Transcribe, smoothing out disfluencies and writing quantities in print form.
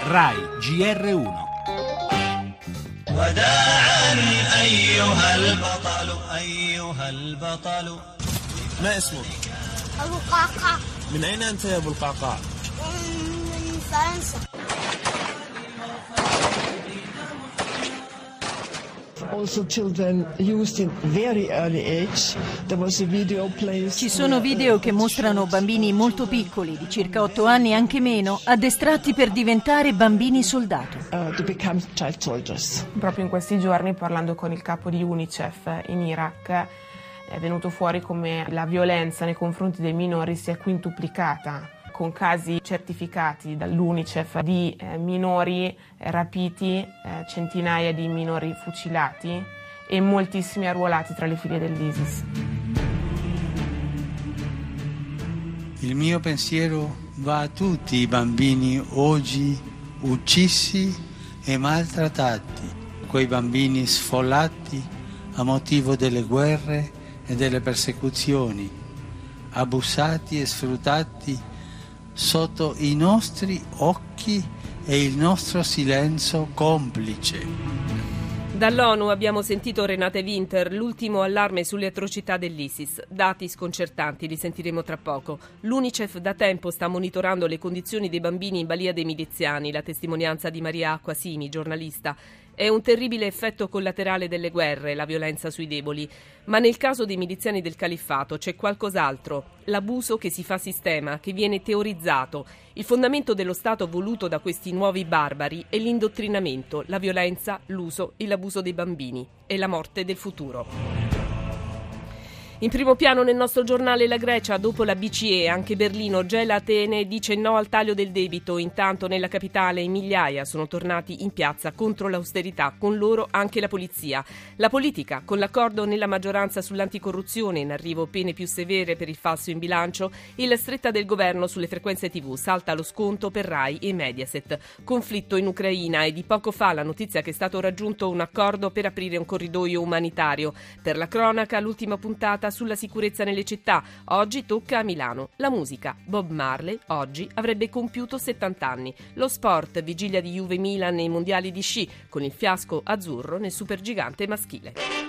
RAI GR1. وداعا أيها البطل أيها البطل. ما اسمك؟ أبو قعقاع. من أين أنت يا أبو القعقاع؟ من فرنسا. Also children used in very early age. There was a video placed. Ci sono video che mostrano bambini molto piccoli, di circa 8 anni, anche meno, addestrati per diventare bambini soldato. To become child soldiers. Proprio in questi giorni, parlando con il capo di UNICEF in Iraq, è venuto fuori come la violenza nei confronti dei minori sia quintuplicata, con casi certificati dall'UNICEF di minori rapiti, centinaia di minori fucilati e moltissimi arruolati tra le file dell'ISIS. Il mio pensiero va a tutti i bambini oggi uccisi e maltrattati, quei bambini sfollati a motivo delle guerre e delle persecuzioni, abusati e sfruttati sotto i nostri occhi e il nostro silenzio complice. Dall'ONU abbiamo sentito Renate Winter, l'ultimo allarme sulle atrocità dell'ISIS. Dati sconcertanti, li sentiremo tra poco. L'UNICEF da tempo sta monitorando le condizioni dei bambini in balia dei miliziani, la testimonianza di Maria Acquasimi, giornalista. È un terribile effetto collaterale delle guerre, la violenza sui deboli. Ma nel caso dei miliziani del califfato c'è qualcos'altro. L'abuso che si fa sistema, che viene teorizzato. Il fondamento dello Stato voluto da questi nuovi barbari è l'indottrinamento, la violenza, l'uso e l'abuso dei bambini. È la morte del futuro. In primo piano nel nostro giornale la Grecia, dopo la BCE, anche Berlino gela Atene e dice no al taglio del debito. Intanto nella capitale in migliaia sono tornati in piazza contro l'austerità, con loro anche la polizia. La politica, con l'accordo nella maggioranza sull'anticorruzione, in arrivo pene più severe per il falso in bilancio e la stretta del governo sulle frequenze TV, salta lo sconto per Rai e Mediaset. Conflitto in Ucraina e di poco fa la notizia che è stato raggiunto un accordo per aprire un corridoio umanitario. Per la cronaca l'ultima puntata sulla sicurezza nelle città. Oggi tocca a Milano. La musica. Bob Marley oggi avrebbe compiuto 70 anni. Lo sport, vigilia di Juve Milan nei mondiali di sci, con il fiasco azzurro nel supergigante maschile.